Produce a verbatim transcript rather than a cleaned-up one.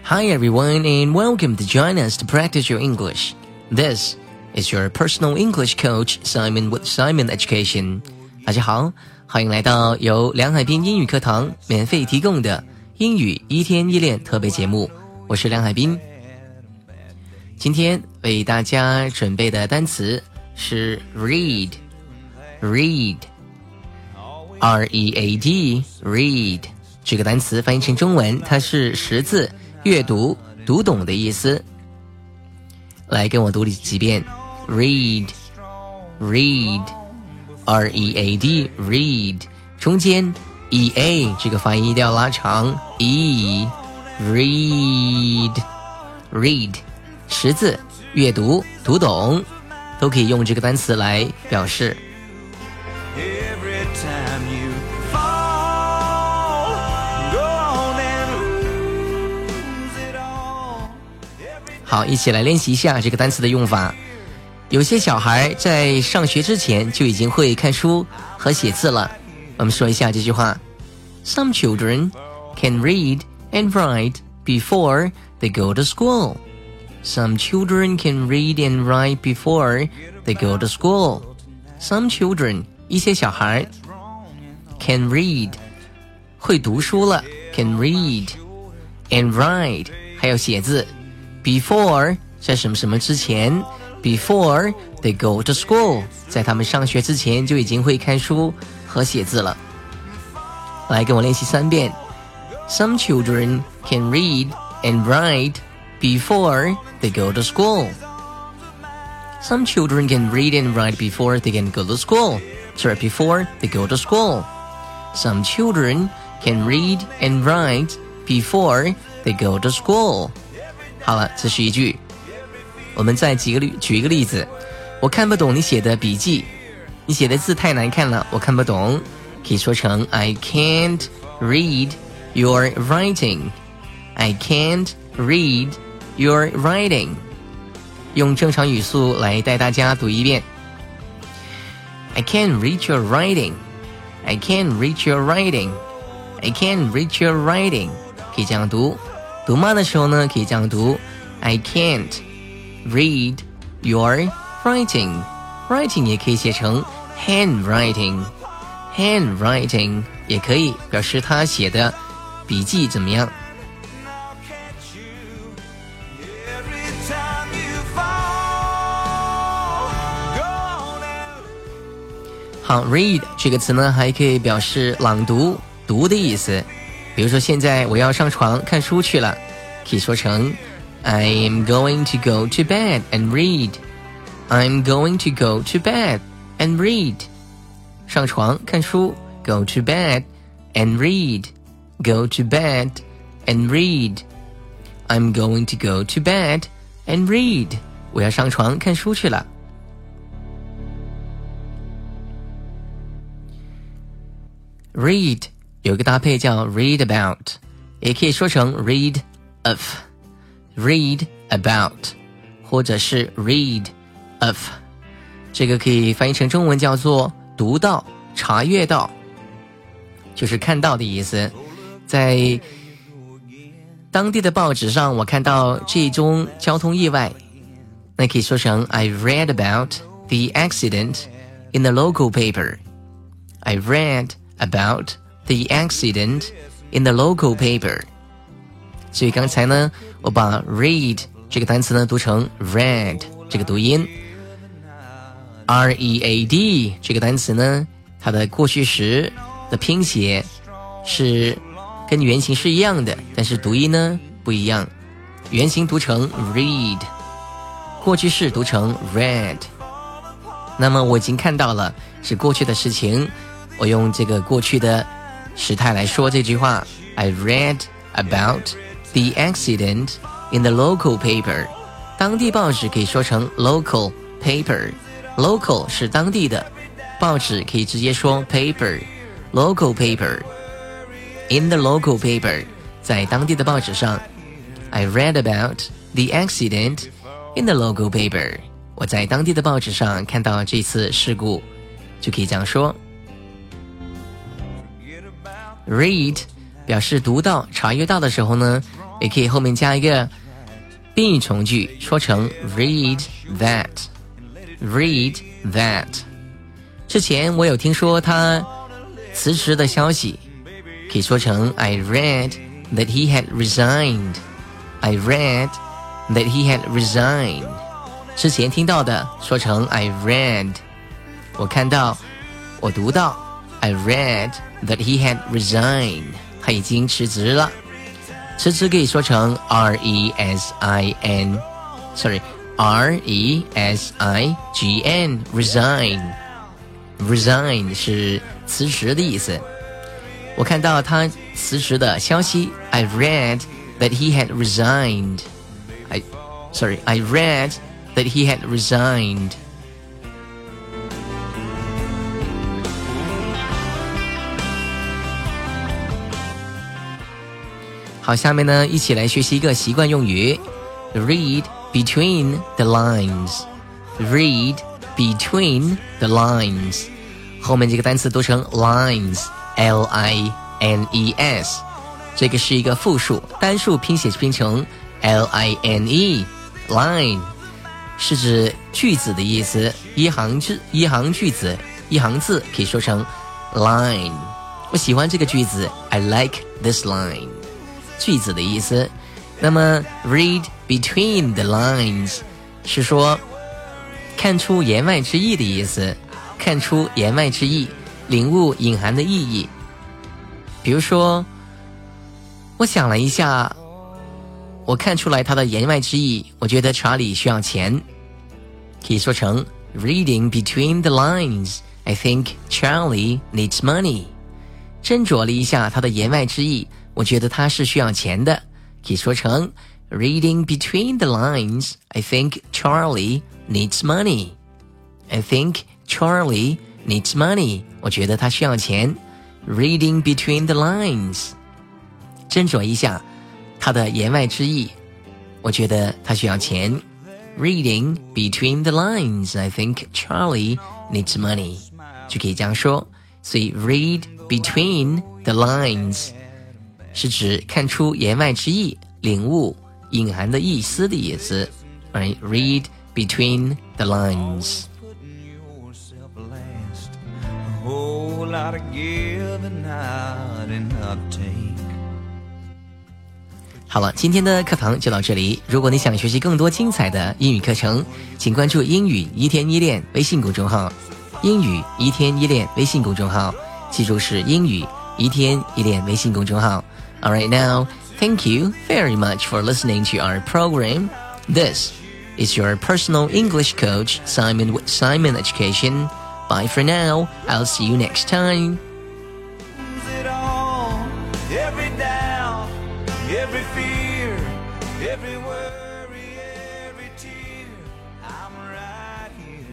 Hi everyone and welcome to join us to practice your English. This is your personal English coach Simon with Simon Education. 大家好，欢迎来到由梁海滨英语课堂免费提供的英语一天一练特别节目，我是梁海滨。今天为大家准备的单词是 read, read, R E A D, read。这个单词翻译成中文，它是识字、阅读、读懂的意思。来跟我读几遍 read, read, R E A D, read。中间 E A 这个发音一定要拉长 E, read, read。识字、阅读、读懂都可以用这个单词来表示。好，一起来练习一下这个单词的用法。有些小孩在上学之前就已经会看书和写字了。我们说一下这句话。Some children can read and write before they go to school.Some children can read and write before they go to school. Some children, 一些小孩 can read, 会读书了 can read and write, 还有写字 before, 在什么什么之前 before they go to school, 在他们上学之前就已经会看书和写字了。来跟我练习三遍。Some children can read and write before they go to school. Some children can read and write before they can go to school. Sorry, before they go to school. Some children can read and write before they go to school. 好了，这是一句。我们再举个例，举一个例子。我看不懂你写的笔记，你写的字太难看了，我看不懂。可以说成 I can't read your writing. I can't read your writing. 用正常语速来带大家读一遍。I can't read your writing. I can't read your writing. I can't read your writing. 可以这样读。读慢的时候呢，可以这样读。I can't read your writing. Writing 也可以写成 handwriting. Handwriting 也可以表示他写的笔记怎么样。好 read 这个词呢还可以表示朗读读的意思。比如说现在我要上床看书去了，可以说成 I am going to go to bed and read. I'm going to go to bed and read. 上床看书 go to bed and read. Go to bed and read. I'm going to go to bed and read. 我要上床看书去了。read 有一个搭配叫 read about, 也可以说成 read of, read about 或者是 read of. 这个可以翻译成中文叫做读到、查阅到，就是看到的意思。在当地的报纸上我看到这宗交通意外，那可以说成 I read about the accident in the local paper. I read about the accident in the local paper. 所以刚才呢，我把 read 这个单词呢读成 read 这个读音。R E A D 这个单词呢，它的过去时的拼写是跟原型是一样的，但是读音呢不一样。原型读成 read， 过去式读成 read。那么我已经看到了，是过去的事情，我用这个过去的时态来说这句话。I read about the accident in the local paper. 当地报纸可以说成 local paper。local 是当地的，报纸可以直接说 paper. Local paper. In the local paper. 在当地的报纸上。I read about the accident in the local paper. 我在当地的报纸上看到这次事故，就可以这样说。read 表示读到、查阅到的时候呢， 也可以后面加一个宾语从句，说成 read that read that。 之前我有听说他辞职的消息，可以说成 I read that he had resigned I read that he had resigned。 之前听到的说成 I read， 我看到我读到 I read that he had resigned， 他已经辞职了。辞职可以说成 R E S I N Sorry R E S I G N Resign Resign 是辞职的意思。我看到他辞职的消息 I read that he had resigned I Sorry I read that he had resigned。好，下面呢，一起来学习一个习惯用语 Read between the lines Read between the lines， 后面这个单词读成 lines L I N E S， 这个是一个复数，单数拼写拼成 L I N E Line， 是指句子的意思，一行字一行句子一行字可以说成 line。 我喜欢这个句子 I like this line，句子的意思。那么 read between the lines 是说看出言外之意的意思，看出言外之意，领悟隐含的意义。比如说，我想了一下，我看出来他的言外之意，我觉得查理需要钱，可以说成 reading between the lines I think Charlie needs money。 斟酌了一下他的言外之意，我觉得他是需要钱的，可以说成 Reading between the lines I think Charlie needs money I think Charlie needs money 我觉得他需要钱。 Reading between the lines 斟酌一下他的言外之意，我觉得他需要钱。 Reading between the lines I think Charlie needs money 就可以这样说。所以 read between the lines是指看出言外之意，领悟隐含的意思的意思。Right, read between the lines。 好了，今天的课堂就到这里。如果你想学习更多精彩的英语课程，请关注英语一天一练微信公众号，英语一天一练微信公众号，记住是英语一天一练微信公众号。Alright, now, thank you very much for listening to our program. This is your personal English coach, Simon with Simon Education. Bye for now. I'll see you next time. Every doubt, every fear, every word.